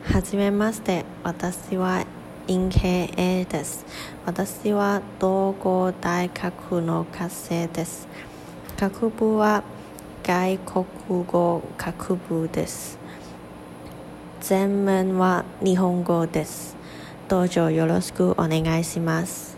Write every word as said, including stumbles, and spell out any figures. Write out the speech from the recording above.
はじめまして、私は陰平 A です。私は東郷大学の学生です。学部は外国語学部です。全面は日本語です。どうぞよろしくお願いします。